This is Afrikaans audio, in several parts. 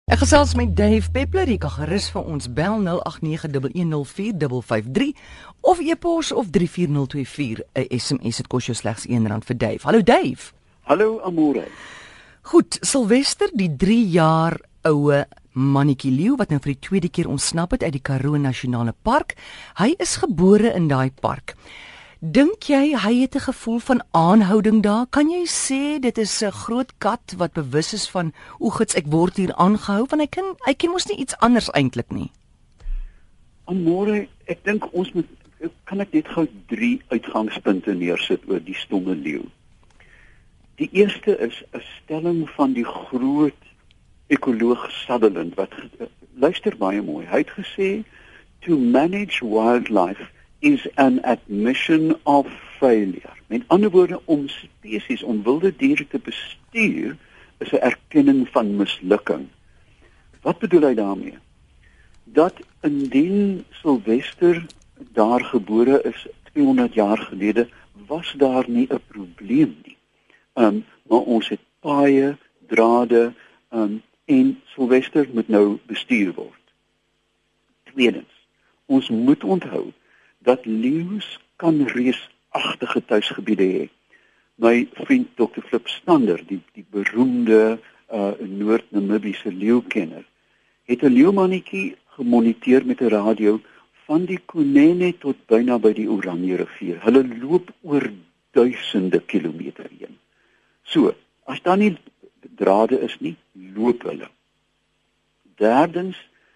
Ek gesels met Dave Peppler, jy kan gerus vir ons bel 0891104553 of e-pos of 34024, 'n SMS, dit kos jou slegs R1 vir Dave. Hallo Dave. Hallo Amore. Goed, Sylvester, die 3 jaar oue mannetjie leeu wat nou vir die tweede keer ontsnap het uit die Karoo Nasionale Park. Hy is gebore in daai park. Dink jy hy het 'n gevoel van aanhouding daar? Kan jy sê dit is 'n groot kat wat bewus is van oegits ek word hier aangehou, want hy ken mos nie iets anders eintlik nie. Amore, ek dink ons kan ek net gou 3 uitgangspunte neersit oor die stomme leeu. Die eerste is 'n stelling van die groot ekoloog Sutherland wat luister baie mooi. Hy het gesê to manage wildlife is an admission of failure. Met ander woorde, om spesies, om wilde diere te bestuur, is 'n erkenning van mislukking. Wat bedoel hy daarmee? Dat indien Sylvester daar gebore is 200 jaar gelede, was daar nie 'n probleem nie. Maar ons het paaie, drade, en Sylvester moet nou bestuur word. Tweedens, ons moet onthou dat leeu's kan reusagtige tuisgebiede hê. My vriend Dr. Flip Stander, die beroemde Noord-Namibiese leeukenner, het 'n leeumannetjie gemoniteer met 'n radio van die Kunene tot byna by die Oranje rivier. Hulle loop oor duisende kilometer heen. So, as daar nie drade is nie, loop hulle. Derdens,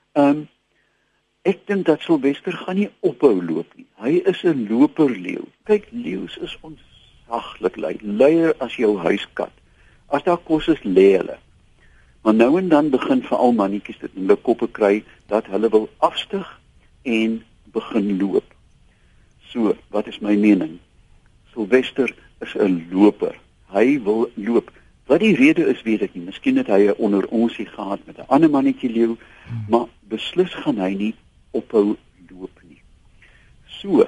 ek dink dat Sylvester gaan nie ophou loop nie. Hy is 'n loperleeu. Kyk, leeu's is ontsaglik lui. Luier as jou huiskat. As daar kos is, lê hulle. Maar nou en dan begin veral mannetjies dit in hulle koppe kry dat hulle wil afstyg en begin loop. So, wat is my mening? Sylvester is 'n loper. Hy wil loop. Wat die rede is, weet ek nie. Miskien het hy 'n onderonsie gehad met 'n ander mannetjie leeu, maar beslis gaan hy nie ophou loop nie. So,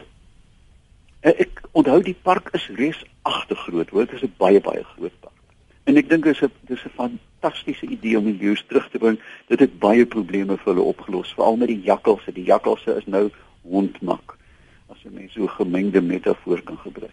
ek onthou die park is reusagtig groot, hoor, dit is 'n baie groot park. En ek dink dis 'n fantastiese idee om die leeu's terug te bring. Dit het baie probleme vir hulle opgelos, veral met die jakkalse. Die jakkalse is nou hondmak, as 'n mens so 'n gemengde metafoor kan gebruik.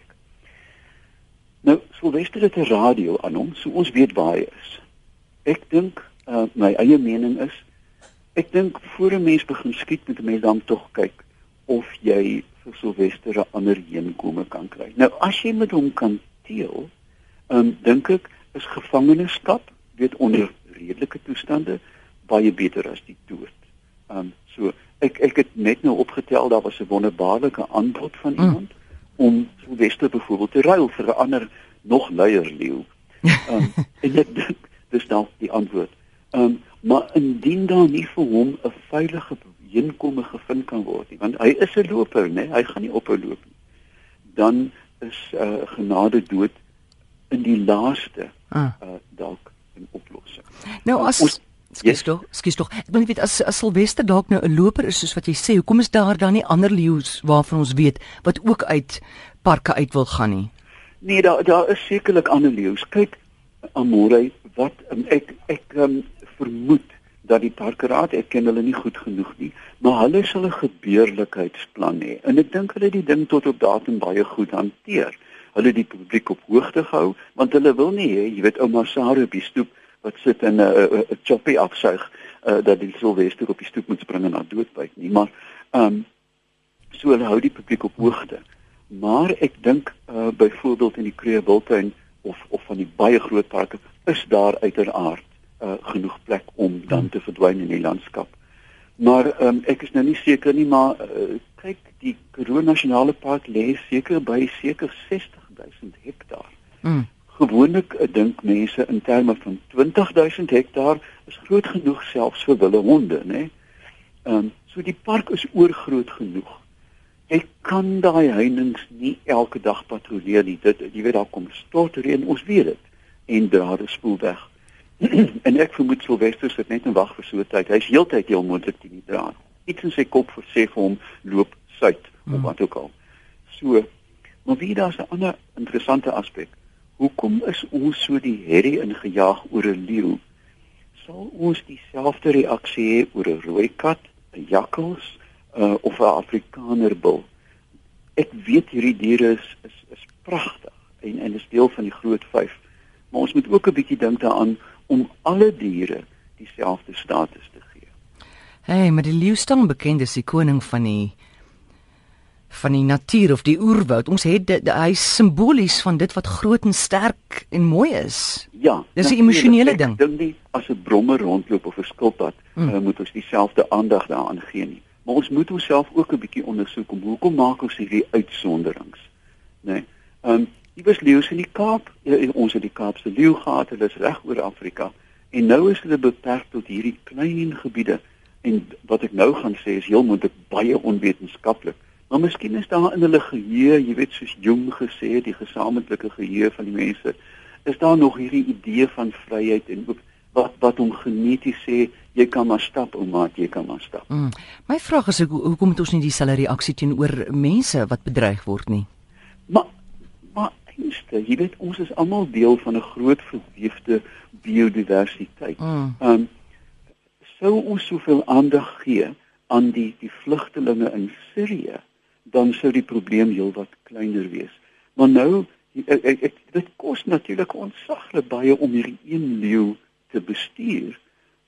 Nou, Sylvester het 'n radio aan hom, so ons weet waar hy is. Ek dink, my eie mening is, ek dink voor 'n mens begin skiet, moet 'n mens dan tog kyk of jy vir Sylvester 'n ander heenkome kan kry. Nou, as jy met hom kan teel, dink ek is gevangenskap, weet onder redelike toestande, baie beter as die dood. So, ek het net nou opgetel, daar was 'n wonderbaarlike aanbod van iemand, om Sylvester byvoorbeeld te ruil vir 'n ander, nog luier leeu. En ek dink, dis dalk die antwoord. Maar indien daar nie vir hom 'n veilige heenkome gevind kan word nie, want hy is 'n loper, né? Hy gaan nie ophou loop nie. Dan is genade dood in die laaste dalk 'n oplossing. Nou as Skus tog. Ek wil net weet, as Sylvester dalk nou 'n loper is, soos wat jy sê, hoekom is daar dan nie ander leeu's waarvan ons weet wat ook uit parke uit wil gaan nie? Nee, daar is sekerlik ander leeu's. Kyk, Amore, wat ek vermoed dat die parkeraad, ek ken hulle nie goed genoeg nie, maar hulle sal 'n gebeurlikheidsplan hê. En ek dink hulle die ding tot op datum baie goed hanteer. Hulle die publiek op hoogte gehou, want hulle wil nie hê, jy weet, ouma Sarah op die stoep wat sit in 'n choppie afsuig, dat die Sylvester op die stoep moet spring en na dood byt nie, maar so hulle hou die publiek op hoogte. Maar ek dink byvoorbeeld in die Kruger Wildtuin of van die baie groot parke is daar uiteraard genoeg plek om dan te verdwyn in die landskap. Maar ek is nou nie seker nie, maar kyk, die Karoo Nasionale Park lê seker 60.000 hektaar. Gewoonlik dink mense in terme van 20.000 hektaar is groot genoeg selfs vir wilde honde, né? So die park is oorgroot genoeg. Ek kan daai heininge nie elke dag patrolleer nie. Jy weet, daar kom stortreën, ons weet dit, en drade spoel weg. En ek vermoed Sylvester sit net en wag vir so 'n tyd. Hy's heeltyd heel moontlik teen die draad. Iets in sy kop sê vir hom loop suid of wat ook al. So, maar wie daar's 'n ander interessante aspek. Hoekom is ons so die herrie ingejaag oor 'n leeu? sal ons dieselfde reaksie hê oor 'n rooi kat, 'n jakkals of 'n Afrikanerbul. Ek weet hierdie diere is pragtig en is deel van die groot 5. Maar ons moet ook 'n bietjie dink daaraan om alle diere dieselfde status te gee. Hey, maar die leeu staan bekend as die koning van die natuur of die oerwoud. Ons het hy is simbolies van dit wat groot en sterk en mooi is. Ja, dis 'n emosionele ding. Ek dink nie as 'n brommer rondloop of 'n skilpad moet ons dieselfde aandag daaraan gee nie. Maar ons moet onsself ook 'n bietjie ondersoek om hoekom maak ons hierdie uitsonderings, né? Die was leeu's in die Kaap. Ons het die Kaapse leeu gehad, hulle is reg oor Afrika. En nou is hulle beperk tot hierdie klein gebiede. En wat ek nou gaan sê is heel moontlik baie onwetenskaplik. Maar miskien is daar in hulle geheue, jy weet soos Jung gesê het, die gesamentlike geheue van die mense, is daar nog hierdie idee van vryheid en ook wat hom geneties sê, jy kan maar stap, ouma, jy kan maar stap. My vraag is hoekom het ons nie dieselfde reaksie teenoor mense wat bedreig word nie? Maar einste, jy weet ons is almal deel van 'n groot verweefde biodiversiteit. Sou ons soveel aandag gee aan die vlugtelinge in Sirië, dan sou die probleem heelwat kleiner wees. Maar nou, dit kos natuurlik ontsaglik baie om hierdie een leeu te bestuur,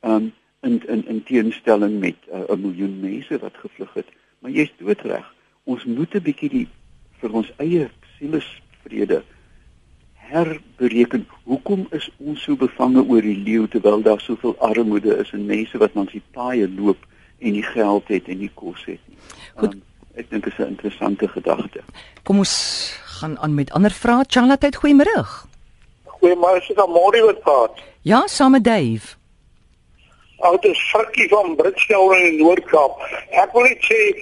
in teenstelling met 'n miljoen mense wat gevlug het. Maar jy's doodreg. Ons moet 'n bietjie vir ons eie sielesvrede herbereken. Hoekom is ons so bevange oor die leeu terwyl daar soveel armoede is en mense wat langs die paaie loop en nie geld het en nie kos het nie. Ek dink dit is 'n interessante gedagte. Kom ons gaan aan met ander vrae. Charlotte, goeiemôre. Goeiemôre, is dit Amori wat praat? Ja, saam met Dave. Dit is Frikkie van Britsdel in die Noord-Kaap. Ek wil net sê,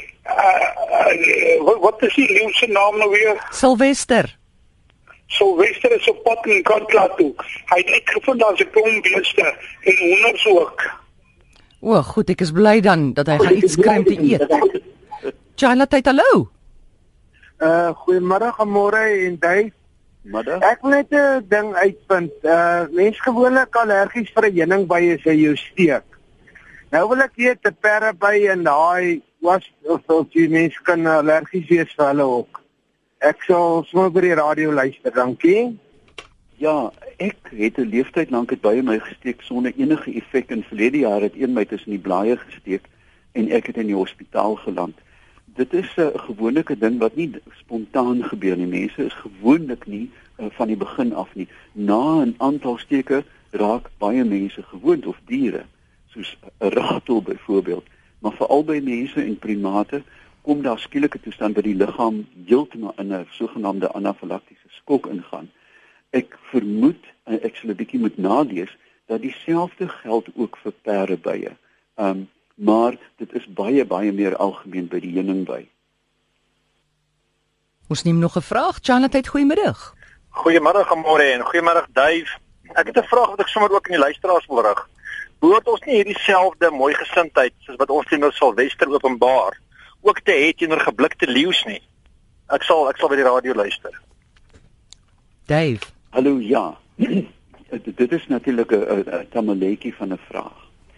wat is die leeu se naam nou weer? Sylvester. Sylvester is op pad in Kantla toe. Hy het uitgevind daar's 'n klomp beeste en honderde ook. O, goed, ek is bly dan dat hy gaan iets kry om te eet. Charlotte, hallo. Goeiemôre, Amore en Dave. Middag. Ek wil net 'n ding uitvind. Mens gewoonlik allergies vir 'n heuningbei as hy jou steek. Nou wil ek weet 'n perdeby en daai of die mens kan allergies wees vir hulle ook. Ek sal sommer by die radio luister, dankie. Ja, ek het 'n leeftyd lank het baie my gesteek sonder enige effek. In verlede jaar het een my tussen die blaaie gesteek en ek het in die hospitaal geland. Dit is 'n gewone ding wat nie spontaan gebeur nie. Mense is gewoonlik nie van die begin af nie. Na 'n aantal steke raak baie mense gewoond of diere, soos 'n ratel byvoorbeeld. Maar veral by mense en primate kom daar skielike toestand by die liggaam heeltemal in 'n sogenaamde anafilaktiese skok ingaan. Ek vermoed, ek sal 'n bietjie moet nalees, dat dieselfde geld ook vir perdebye. Maar dit is baie meer algemeen by die heuningbei. Ons neem nog 'n vraag. Charlotte, goeiemôre. Goeiemôre, Amore en goeiemôre, Dave. Ek het 'n vraag wat ek sommer ook aan die luisteraars wil rig. Behoort ons nie hierdie selfde mooi gesindheid soos wat ons teenoor Sylvester openbaar ook te hê teenoor geblikte leeu's nie? Ek sal by die radio luister. Dave. Hallo, ja. Dit is natuurlik 'n tamaletjie van 'n vraag.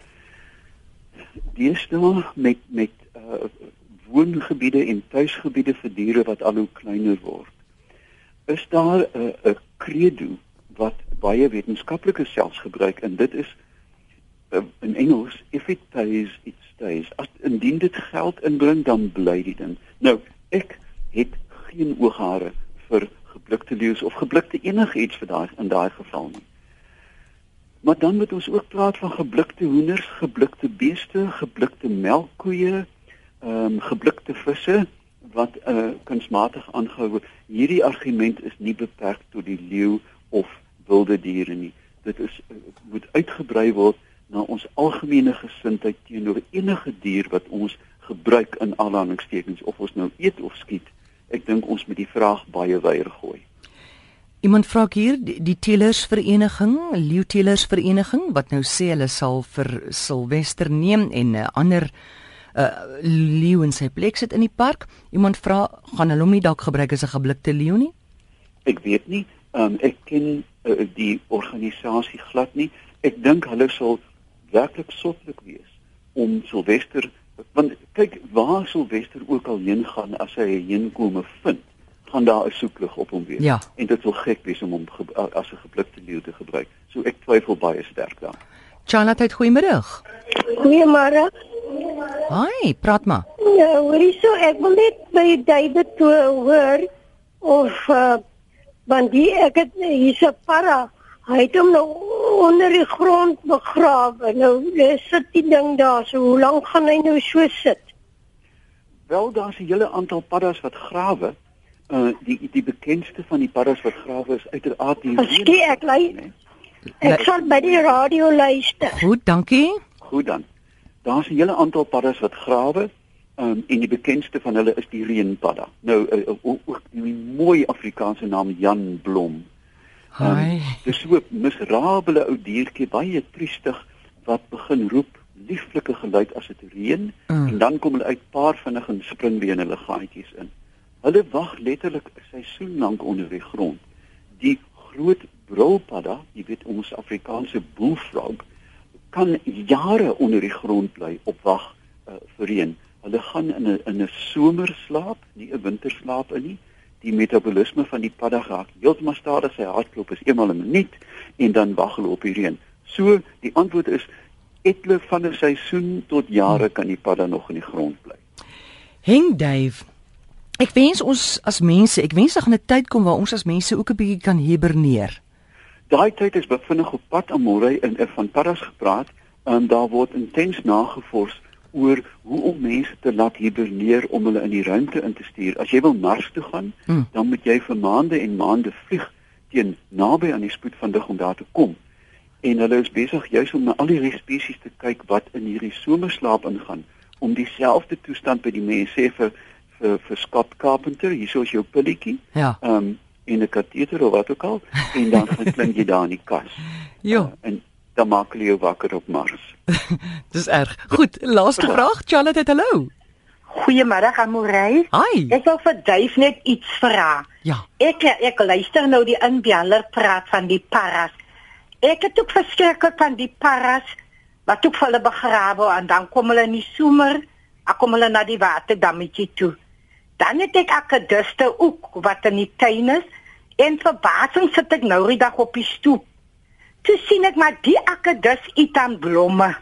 Deesdae met woongebiede en tuisgebiede vir diere wat al hoe kleiner word, is daar 'n credo wat baie wetenskaplikes selfs gebruik, en dit is in Engels, if it pays, it stays. Indien dit geld inbring, dan bly die ding. Nou, ek het geen ooghare vir geblikte leeu's of geblikte enigiets in daai geval nie. Maar dan moet ons ook praat van geblikte hoenders, geblikte beeste, geblikte melkkoeie, geblikte visse wat kunsmatig aangehou word. Hierdie argument is nie beperk tot die leeu of wilde diere nie. Dit moet uitgebrei word na ons algemene gesindheid teenoor enige dier wat ons gebruik in aanhalingstekens, of ons nou eet of skiet. Ek dink ons moet die vraag baie wyer gooi. Iemand vra hier, die telersvereniging, leeuteelersvereniging, wat nou sê hulle sal vir Sylvester neem en 'n ander leeu in sy plek sit in die park. Iemand vra, gaan hulle hom nie dalk gebruik as 'n geblikte leeu nie? Ek weet nie, ek ken die organisasie glad nie. Ek dink hulle sal werklik sotlik wees om Silvester, want kyk waar Silvester ook al heen gaan as hy 'n heenkome vind, gaan daar 'n soeklig op hom wees. Ja. En dit wil gek wees om hom as 'n geblikte leeu te gebruik. So ek twyfel baie sterk daaraan. Charlotte, goeiemiddag. Goeiemôre. Hi, praat maar. Ja, hoorie so, ek wil net by David hoor of want ek het hier's 'n para. Hy het hom nou onder die grond begrawe. Nou sit die ding daar. So hoe lank gaan hy nou so sit? Wel, daar's 'n hele aantal paddas wat grawe. Die bekendste van die paddas wat grawe is uiteraard die Skie, ek sal by die radio luister. Goed, dankie. Goed dan. Daar's 'n hele aantal paddas wat grawe. En die bekendste van hulle is die reënpadda. Nou ook die mooi Afrikaanse naam Jan Blom. Hi. Dis so 'n miserabele ou diertjie, baie triestig, wat begin roep, lieflike geluid as dit reën, en dan kom hulle uit paar vinnig en spring weer in hulle gaatjies in. Hulle wag letterlik 'n seisoen lank onder die grond. Die groot brulpadda, jy weet ons Afrikaanse bullfrog, kan jare onder die grond bly op wag vir reën. Hulle gaan in 'n somerslaap, nie 'n winterslaap nie. Die metabolisme van die padda raak heeltemal stadig, sy hartklop is eenmal 'n minuut en dan wag hulle op die reën. So die antwoord is etle van 'n seisoen tot jare kan die padda nog in die grond bly. Henk Dave. Ek wens ons as mense, ek wens daar gaan 'n tyd kom waar ons as mense ook 'n bietjie kan hiberneer. Daai tyd is bevinnig op pad aan môre en van paddas gepraat en daar word intens nagevors oor hoe om mense te laat hiberneer om hulle in die ruimte in te stuur. As jy wil Mars toe gaan, dan moet jy vir maande en maande vlieg teen naby aan die spoed van lig om daar te kom. En hulle is besig juis om na al die spesies te kyk wat in hierdie somerslaap ingaan, om dieselfde toestand by die mense vir Scott Carpenter, hierso is jou pilletjie. Ja. En 'n kateter of wat ook al, en dan gaan klink jy daar in die kas. Jo. En dan maak hulle jou wakker op Mars. Dis erg. Goed, laaste vraag, Charlotte, hallo. Goeiemôre, Amorey. Hi. Ek wil vir Duif net iets vra. Ja. Ek luister nou die inbeller praat van die paras. Ek het ook verskriklik van die paras wat ook vir hulle begrawe en dan kom hulle in die somer, dan kom hulle na die waterdammetjie toe. Dan het ek akkediste ook wat in die tuin is en verbasing sit ek nou die dag op die stoep. Toe sien ek maar die akkedis eet aan blomme.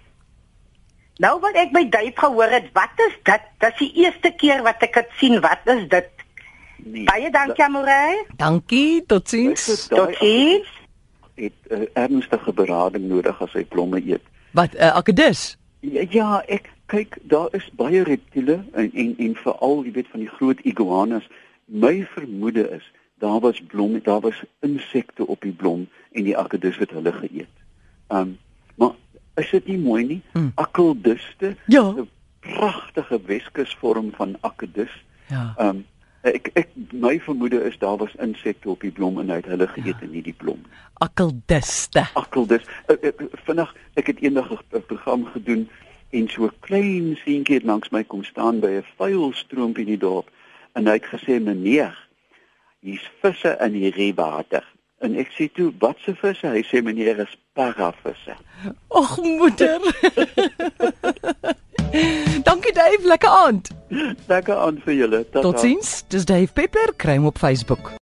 Nou wat ek by Duif gehoor het, wat is dit? Dit is die eerste keer wat ek dit sien. Wat is dit? Nee, Baie dankie, Amorey. Dankie, totsiens. Totsiens. Het ernstige berading nodig as hy blomme eet. Wat, akedus? Ja, ek kyk, daar is baie reptiele en veral, jy weet, van die groot iguanas. My vermoede is daar was insekte op die blom en die akedus het hulle geëet. Maar is dit nie mooi nie? Akeldiste, Ja. 'n pragtige Weskusvorm van akedus. Ja. My vermoede is daar was insekte op die blom en hy het hulle geëet en nie die blom. Akeldiste. Akeldus. Vinnig, ek het eendag 'n program gedoen en so 'n klein seentjie het langs my kom staan by 'n vuil stroompie in die dorp en hy het gesê, "Meneer, hier's visse in hierdie water." En ek sê toe, "Wat se visse?" Hy sê, "Meneer, is paravisse." Ag moeder. Dankie Dave, lekker aand. Lekker aan vir julle. Tata. Totsiens. Dis Dave Peppler, kry hom op Facebook.